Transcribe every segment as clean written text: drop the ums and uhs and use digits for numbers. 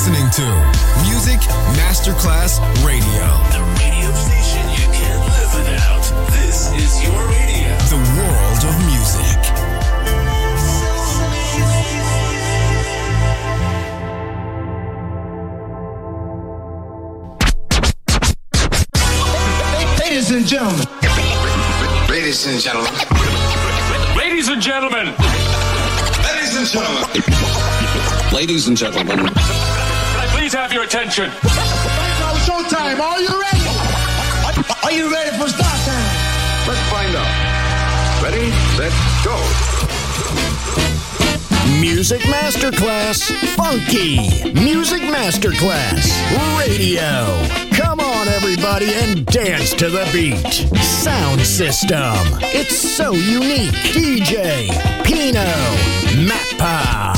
listening to Music Masterclass Radio. The radio station you can't live without. This is your radio. The world of music. Ladies and gentlemen. Ladies and gentlemen. Ladies and gentlemen. Ladies and gentlemen. Ladies and gentlemen. Can I please have your attention? Now showtime. Are you ready? Are you ready for start time? Let's find out. Ready, set, go. Music Masterclass Funky. Music Masterclass Radio. Come on, everybody, and dance to the beat. Sound system. It's so unique. DJ Pino Mappa.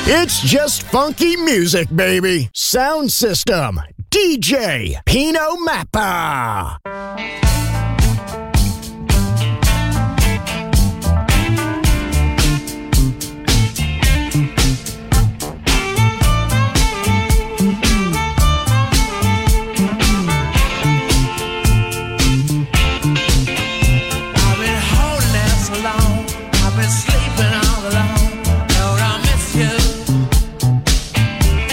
It's just funky music, baby. Sound system, DJ Pino Mappa.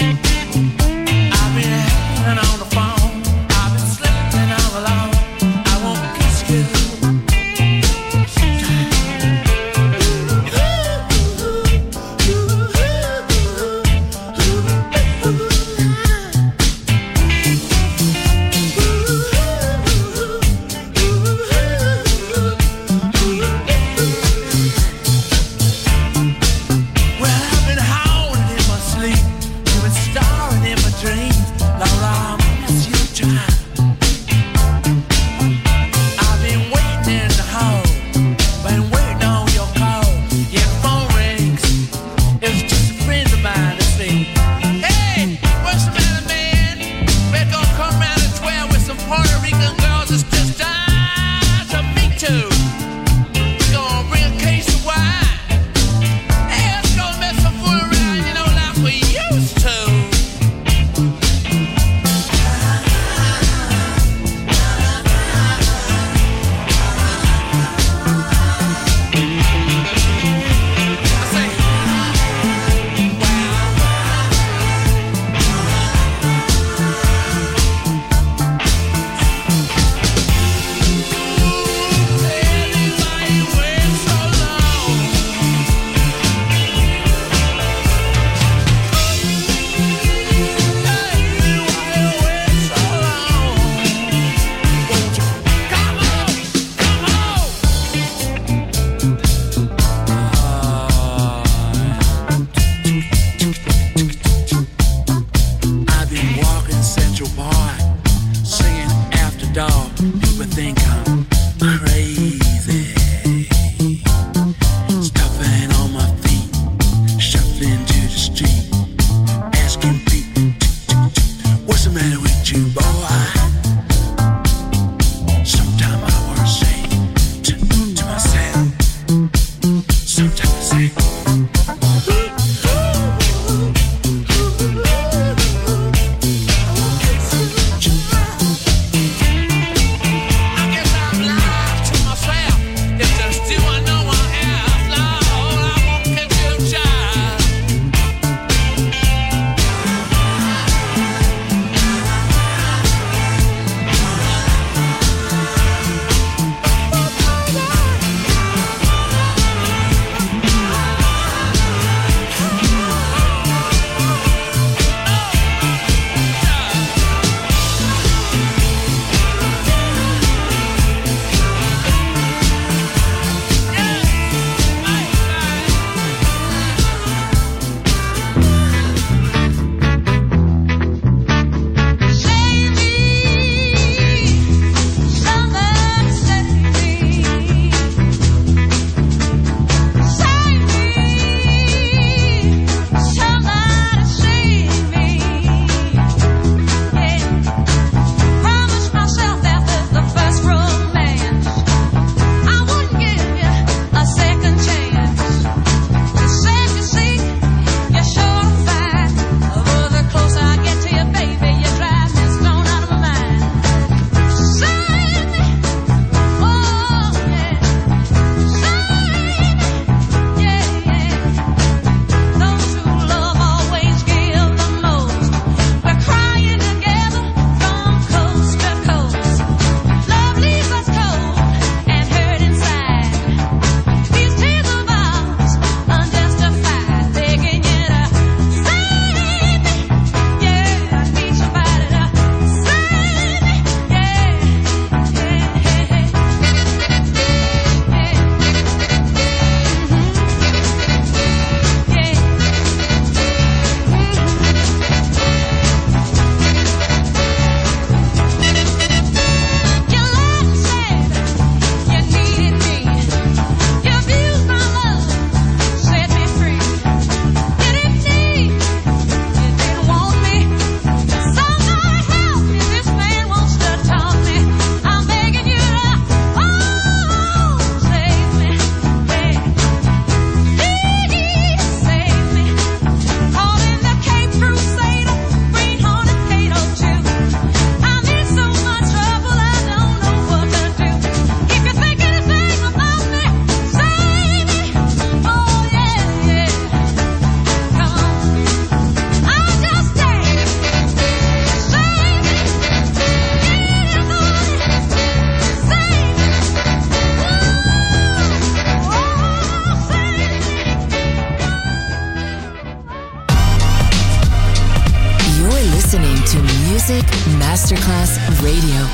I've been slipping all alone. Masterclass Radio.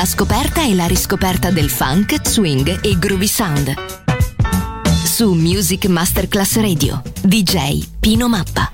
la scoperta e la riscoperta del funk, swing e groovy sound. Su Music Masterclass Radio, DJ Pino Mappa.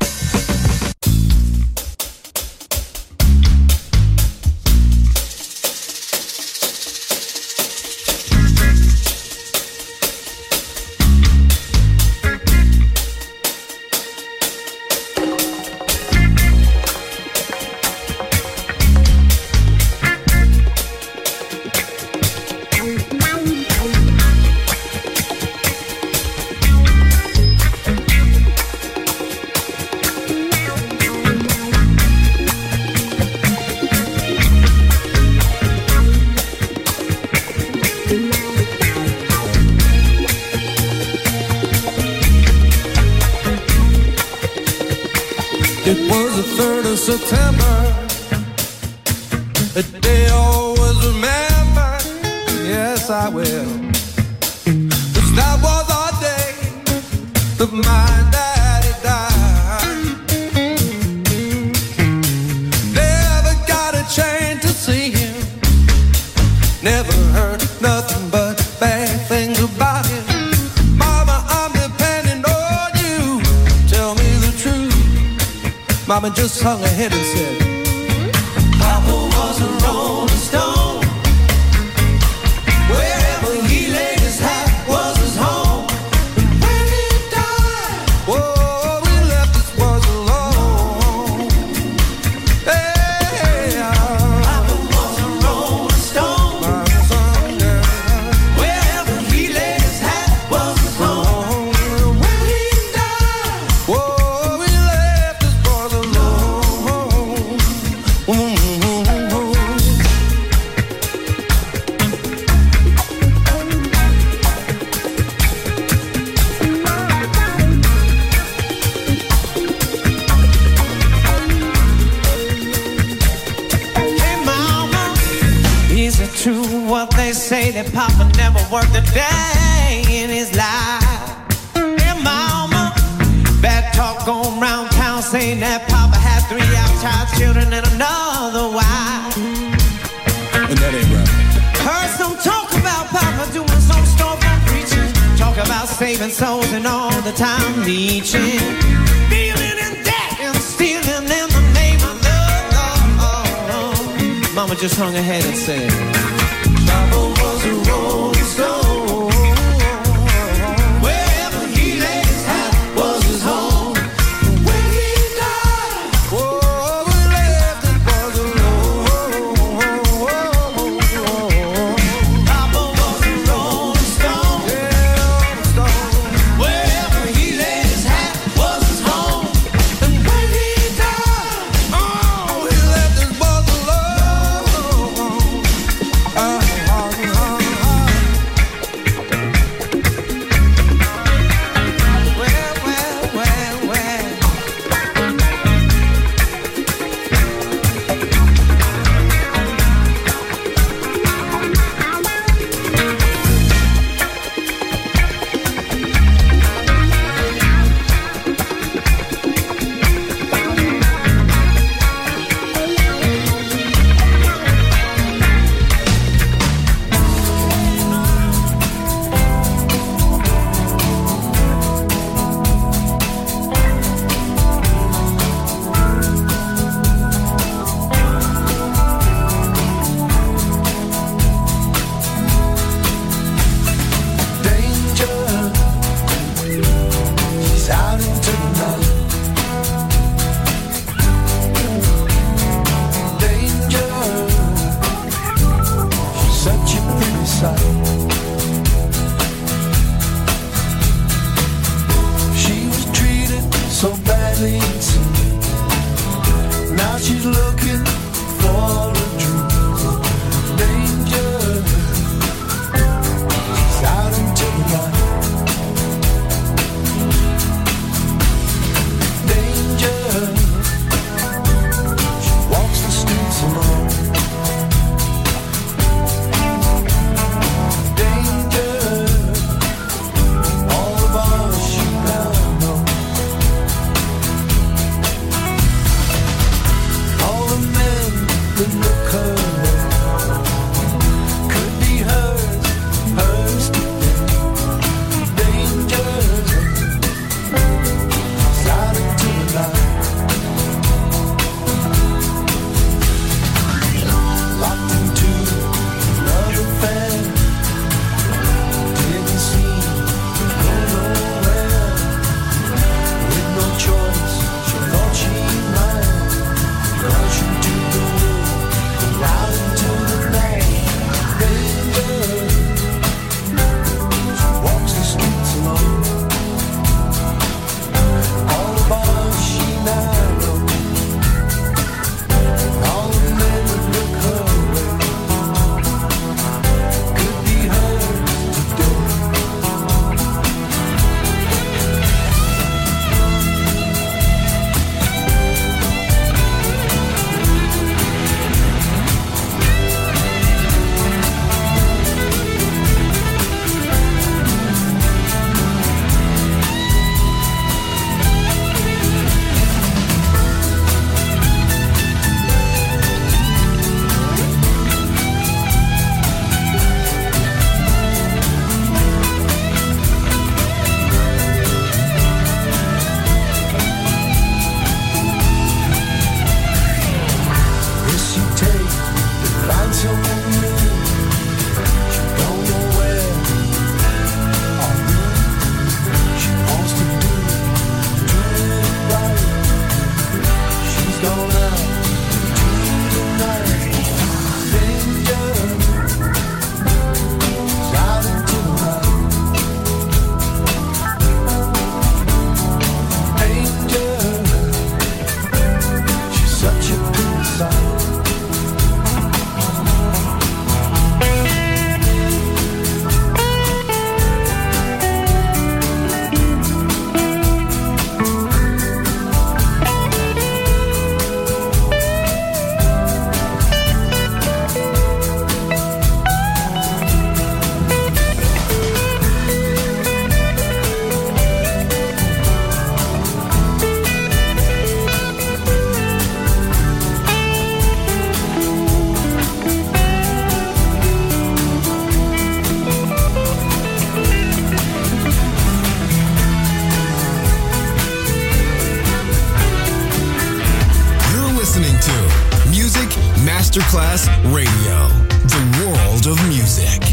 September, a day I always remember. Yes, I will. 'Cause that was our day that my daddy died. Never got a chance to see him. Never heard nothing but bad things about him. Mama, I'm depending on you. Tell me the truth. Mama just hung her head and said, Papa was a rolling stone. Wherever he laid his hat was his home. And when he died, oh, we left this was alone. Hey, Papa was a rolling stone. Wherever he laid his hat was his home. And when he died, oh, what they say that Papa never worked a day in his life. And Mama, bad talk going round town saying that Papa had 3 outside children and another wife. And that ain't right. Heard some talk about Papa doing some storefront preaching. Talk about saving souls and all the time leeching. Dealing in debt and stealing in the name of love. Mama just hung her head and said, Papa was a rolling stone. Wherever he laid his hat was his home. When he died, oh, we left it was alone. Papa was a rolling stone. Yeah, stone. Wherever he laid his hat was his home. And when he died, oh, we left it was alone. Masterclass Radio, the world of music.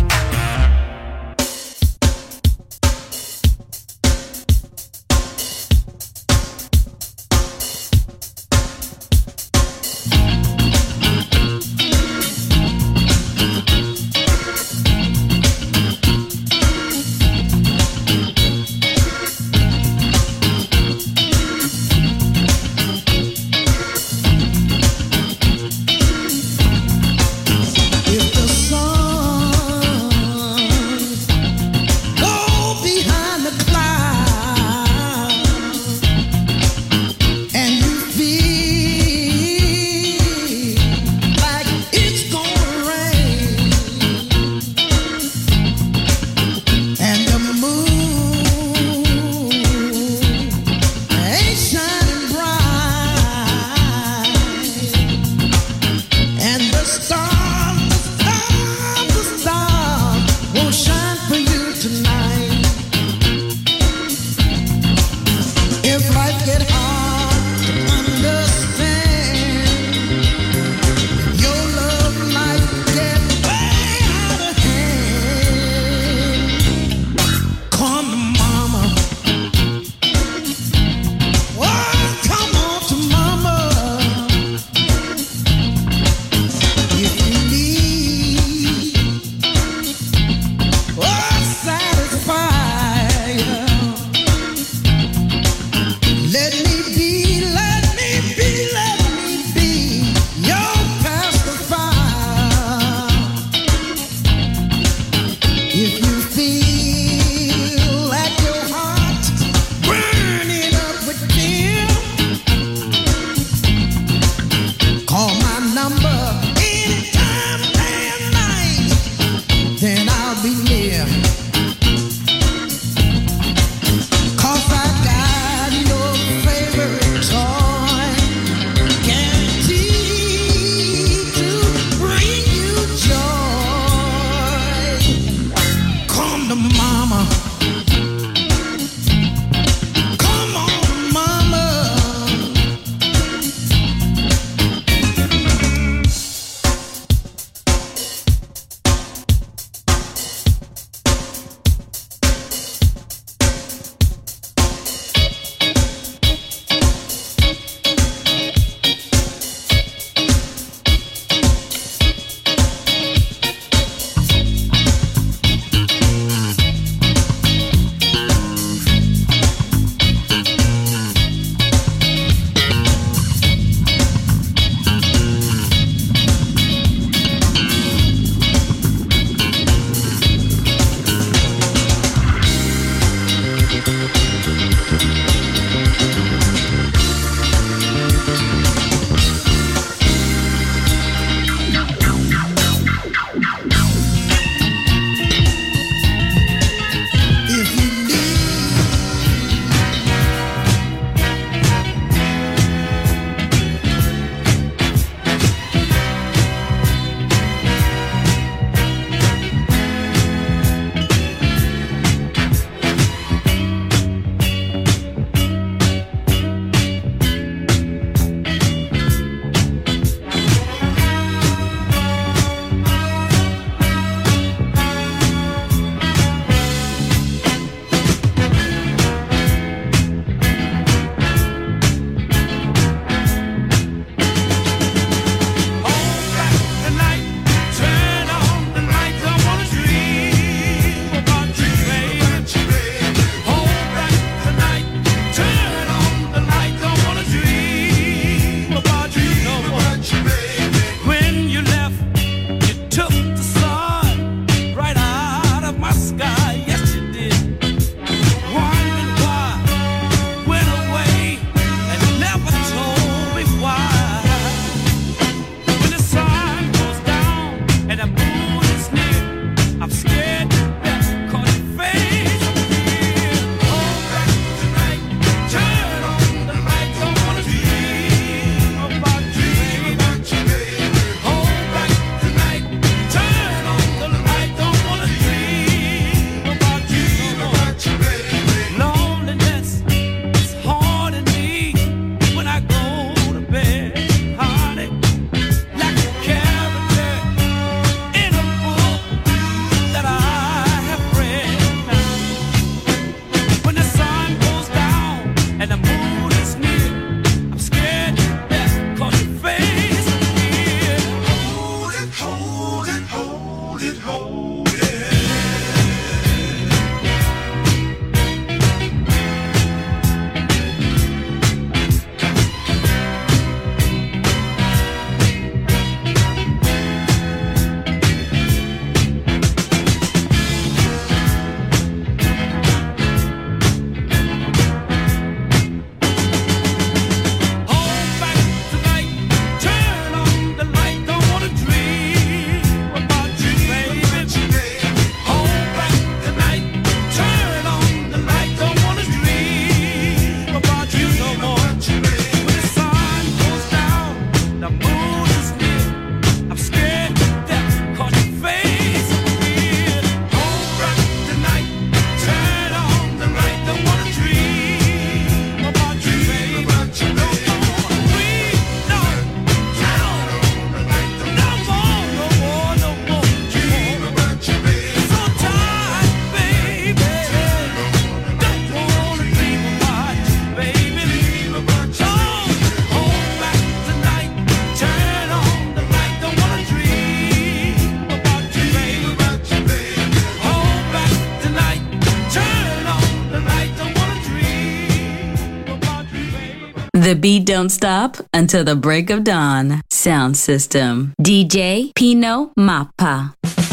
The beat don't stop until the break of dawn. Sound system. DJ Pino Mappa.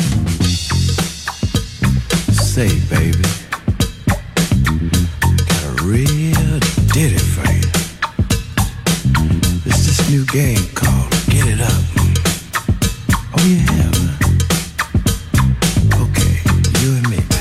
Say, baby, got a real ditty for you. It's this new game called Get It Up. Oh, yeah. Okay, you and me, baby.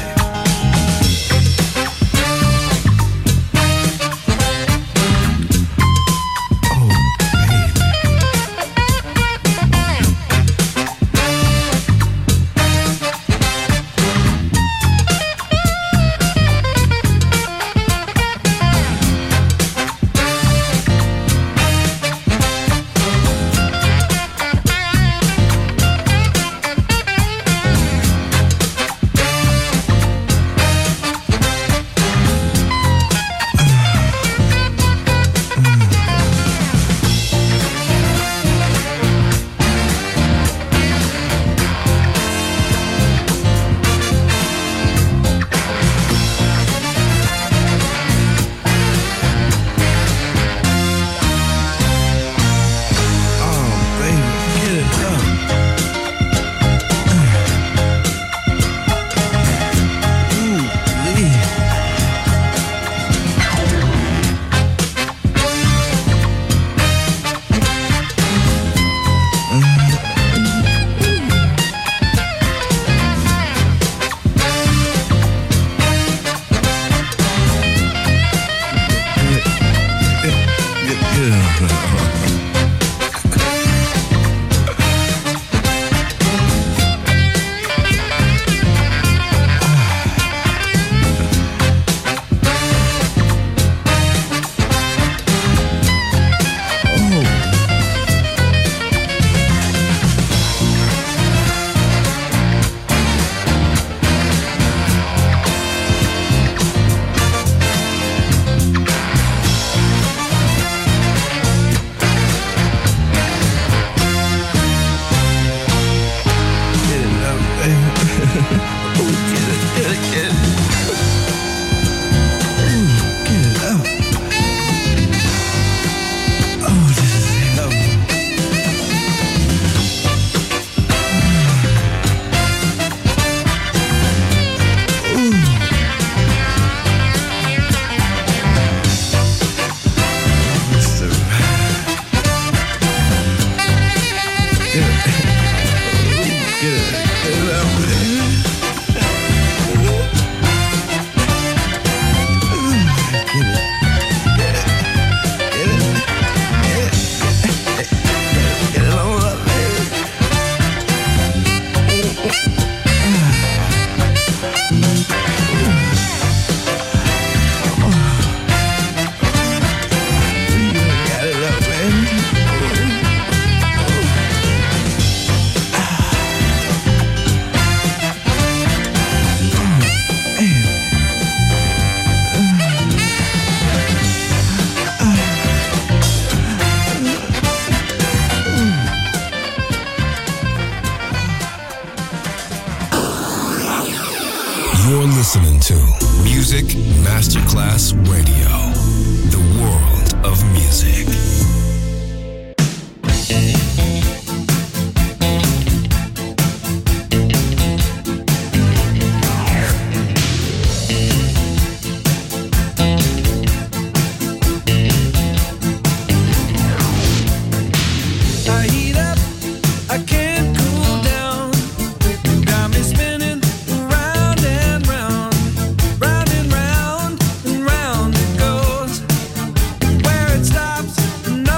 You're listening to Music Masterclass Radio, the world of music. Round and round it goes. Where it stops,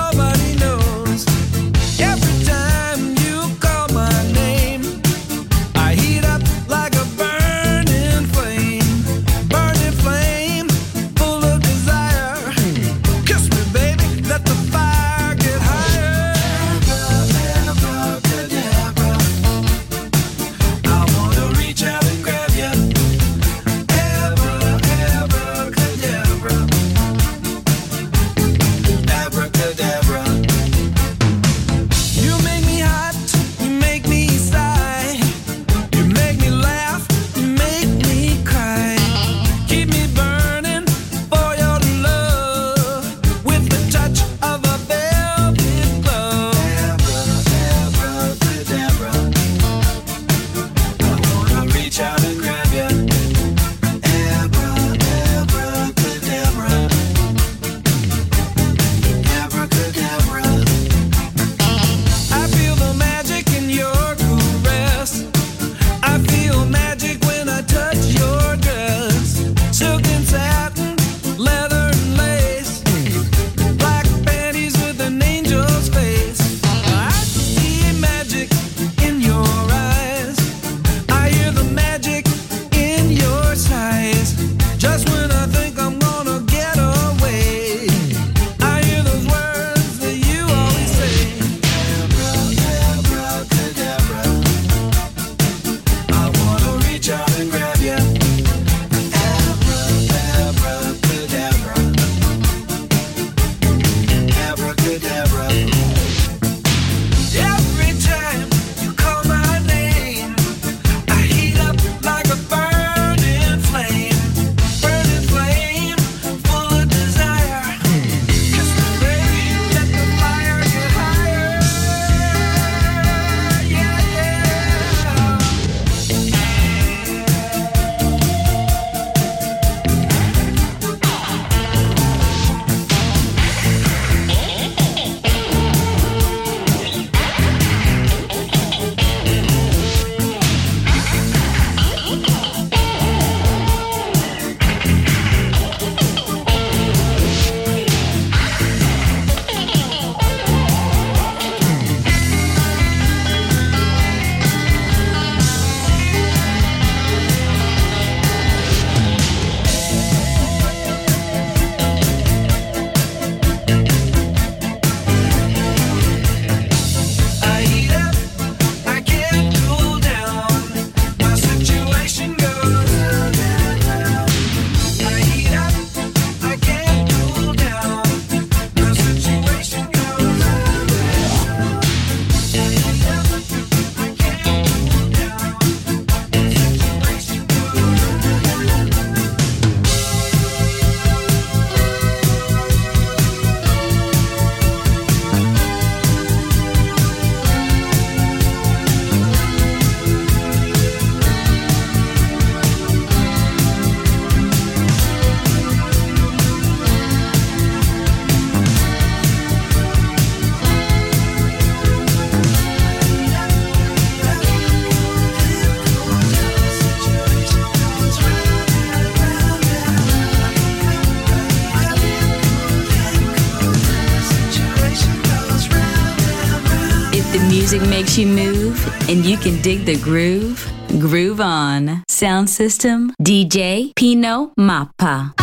music makes you move and you can dig the groove. Groove on. Sound system, DJ Pino Mappa.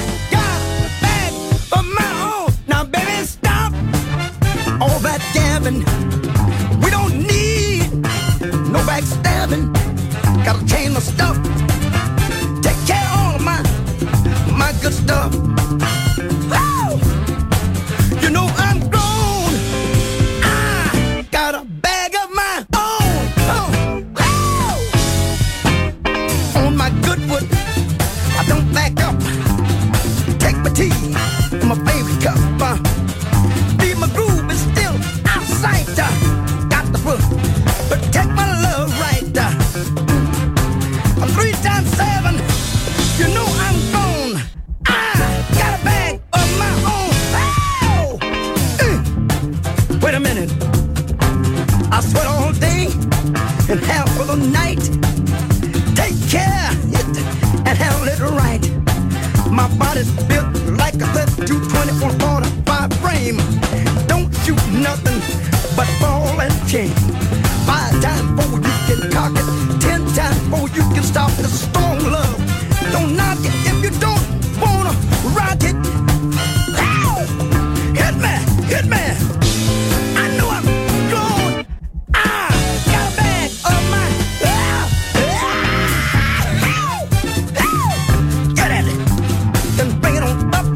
All that gabbing, we don't need no backstabbing. Gotta change my stuff, take care of all of my good stuff. Woo! You know I'm grown, I got a bag of my own. Oh, on my good wood, I don't back up. Take my tea in my favorite cup. Leave my groove is still out of sight. Got the book, but take my love right. I'm 3 times 7. You know I'm gone. I got a bag of my own. Oh! Wait a minute. I sweat all day and half of the night. Take care of it and handle it right. My body's built like a 32-20 on 45 frame. Don't shoot nothing but ball and chain. 5 times before you can cock it, 10 times before you can stop the strong love. Don't knock it if you don't wanna rock it. Ow! Hit me, hit me. I know I'm grown. I got a bag of my. Get at it. Then bring it on up.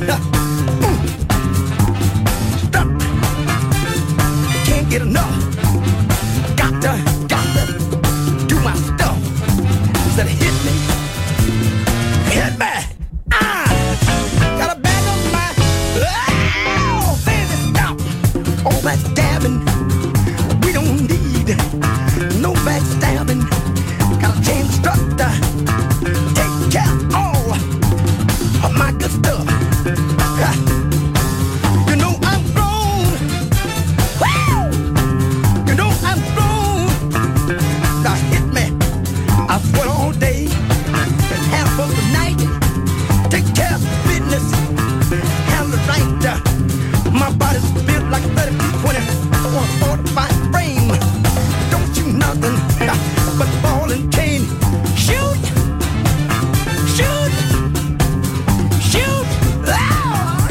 Stop. Can't get enough. Got to do my stuff. Instead of hit me. Hit me. I got a bag of my. Oh, baby, stop. All that dabbing. We don't need no backstabbing. Gotta change the structure. Take care of all of my good stuff. You know I'm grown. Woo! You know I'm grown. Now hit me. I sweat all day and half of the night. Take care of business. Handle it right. My body's built like a 32-20 or 45 frame. Don't shoot nothing but ball and chain. Shoot! Shoot! Shoot! Ah!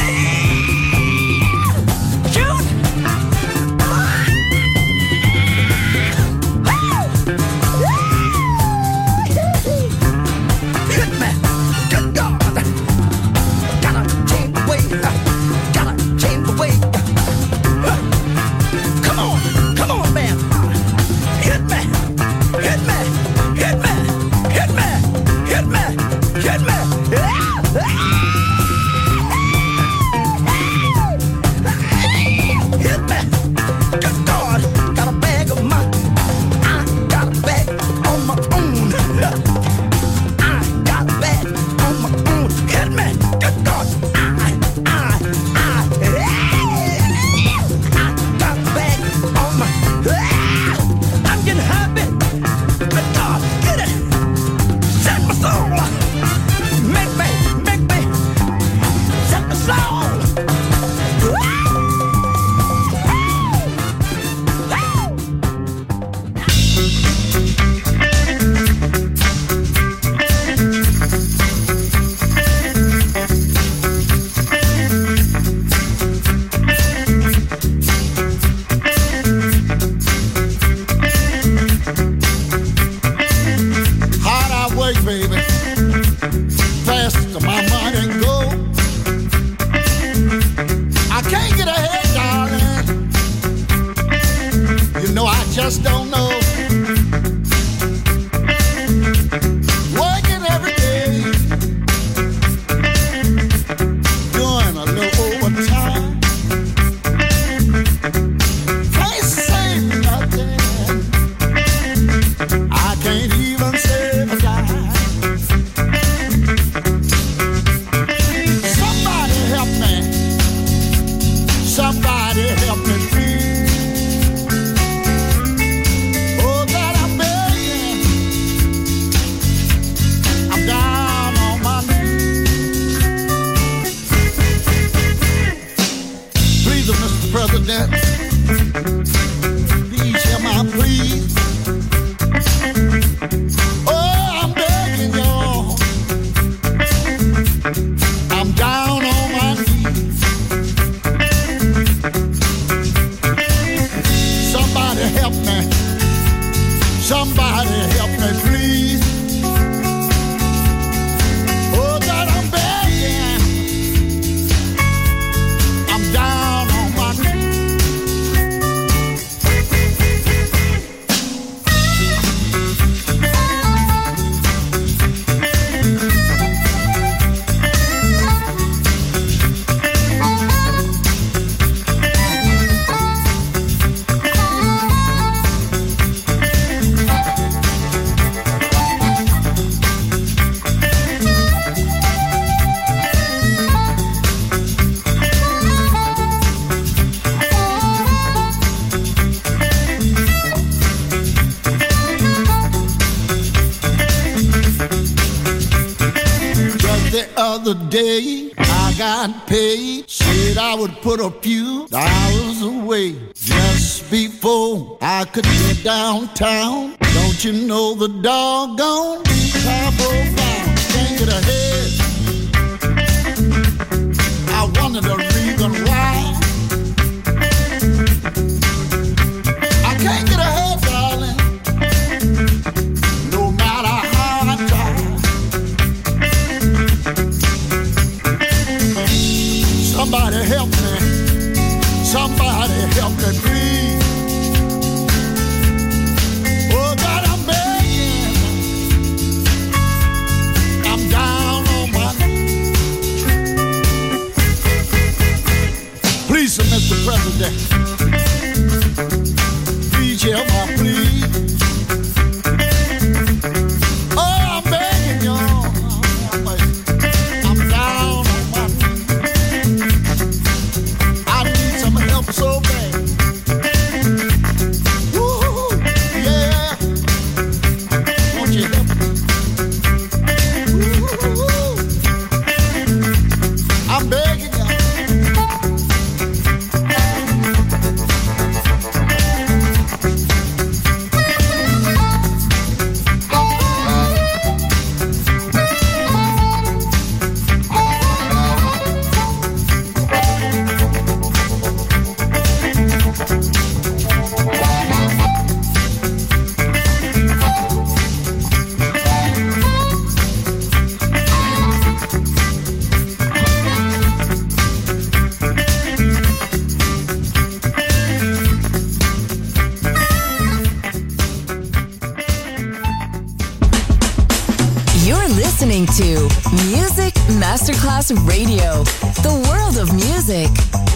Shoot! Hit me! Good God! Gotta change the way. Gotta change the way. Come on, man! Hit me! Hit me! Hit me! Hit me! Hit me! Hit me! Hit me! Good God! Got a bag of my. I got a bag on my own. I got a bag on my own. Hit me! Good God! I got a bag on my. I'm getting happy. Good God! Get it! Set my soul! Make me! Set my soul! Hard I work, baby. Fast my money go. I can't get ahead, darling. You know I just don't know. Working every day, doing a little overtime. Can't say nothing. I can't even save a dime. The other day I got paid, said I would put a few dollars away just before I could get downtown. Don't you know the doggone car broke down? Can't get ahead. I wonder the reason why. I can't get ahead, darling, no matter how I try. Somebody help me. Somebody help me, please. Oh, God, I'm begging. I'm down on my knees. Please, Mr. President, please help my plea. Oh, I'm begging y'all. I'm down on my knees. I need some help so bad. Woo, yeah. Won't you help me? Woo, I'm begging y'all. You're listening to Music Masterclass Radio, the world of music.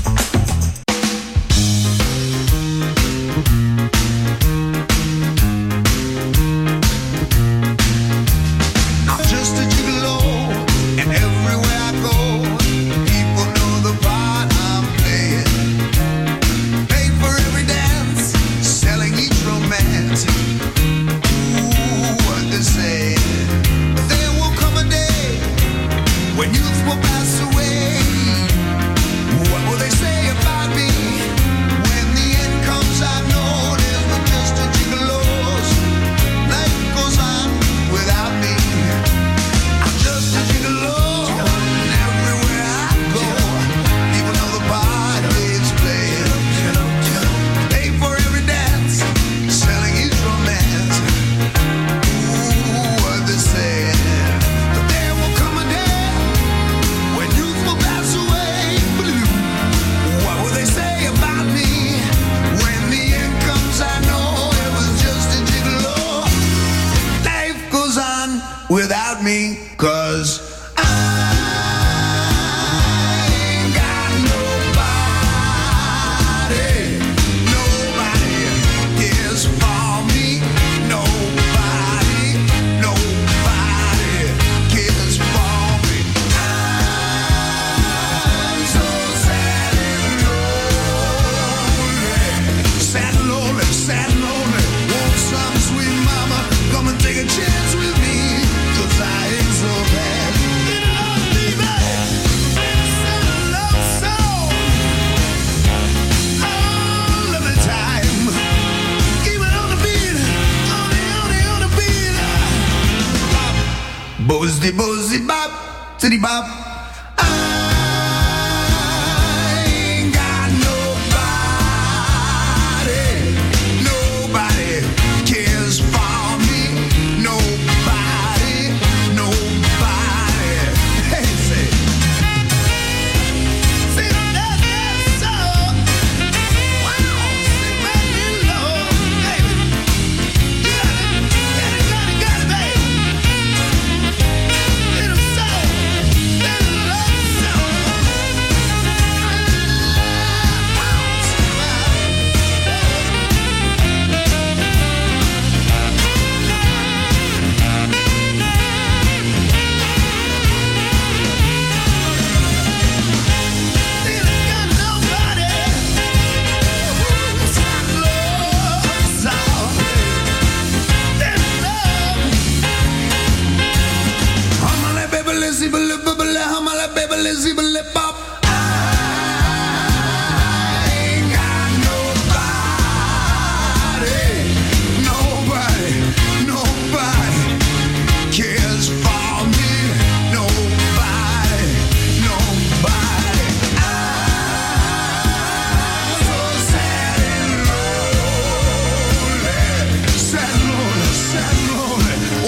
I'm just a gigolo, and everywhere I go, people know the part I'm playing. Pay for every dance, selling each romance. Ooh, what they say. But there will come a day when youth will pass away. What will they say about me when the end comes? I know there's but just a gigolo's. Life goes on without me. I'm just a gigolo, and everywhere I go, people know the part it's playing. Pay for every dance, selling each romance. Ooh, what they say. But there will come a day when youth will pass away. What will they say about me when the end comes? I know it was just a gigolo. Life goes on without me, 'cause I ain't got nobody. Nobody cares for me. Nobody cares for me. I'm so sad and lonely. Sad and lonely, sad and lonely. Want some sweet mama come and take a chance with me, 'cause I ain't so bad. You know, baby, it's a love song. Oh, love the time. Keep it on the beat, on the beat. Bop, bozzy, bozzy, bop, city bop. I ain't got nobody. Nobody cares for me. Nobody. Hey, say. See, that's so. Wow, sing back in low, baby. You got it, baby. Little soul, little love soul. Listen, zibbly zibbly bop.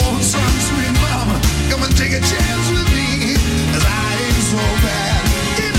Take a chance with me, 'cause I ain't so bad.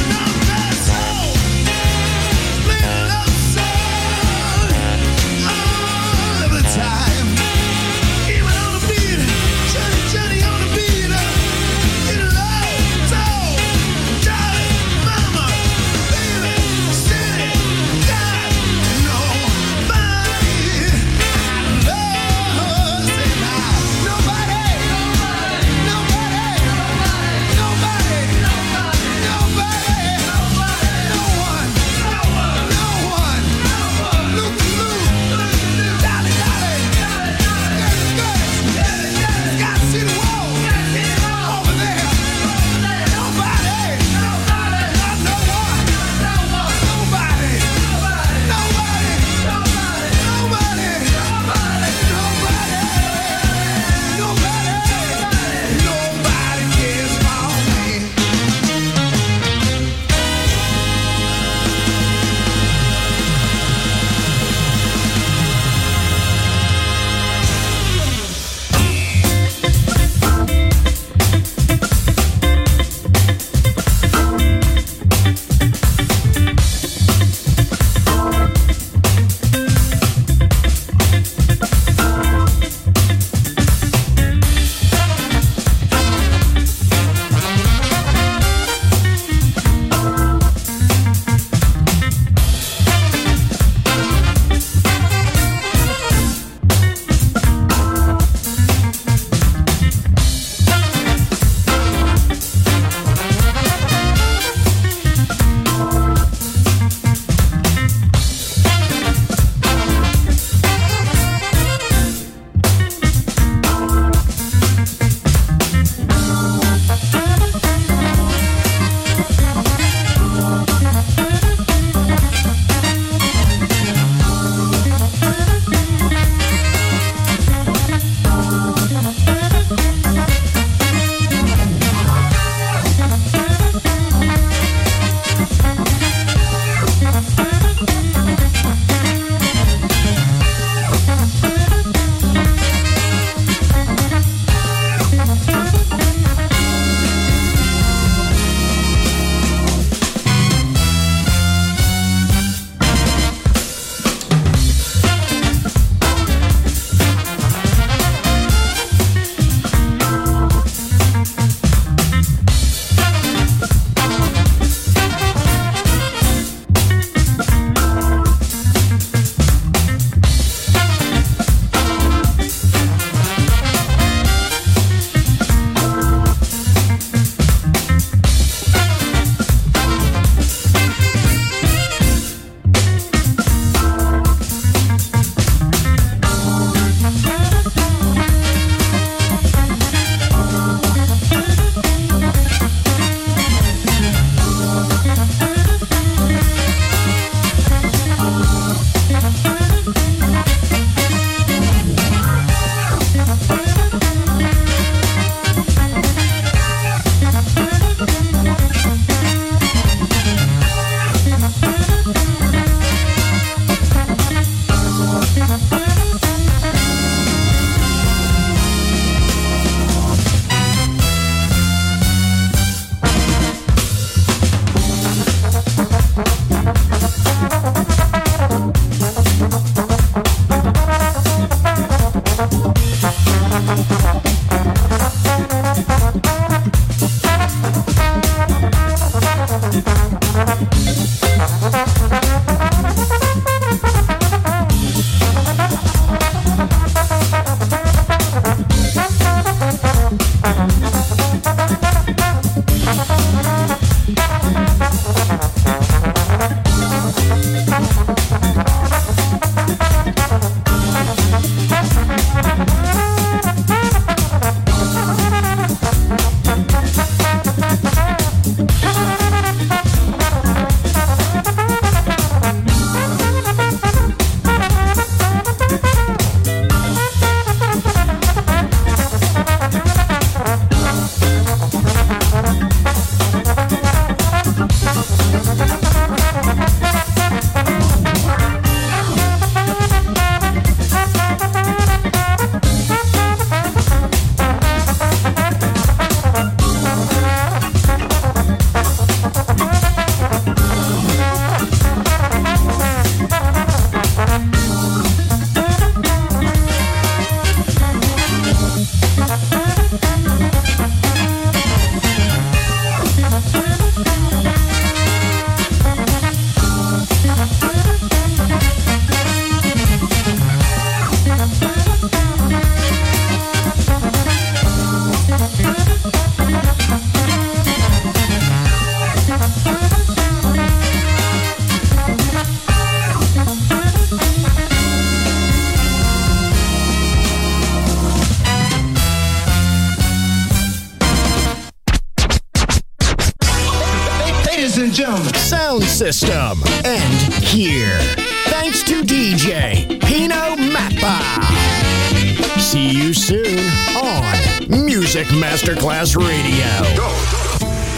gentlemen. Sound system. And here. Thanks to DJ Pino Mappa. See you soon on Music Masterclass Radio. Go.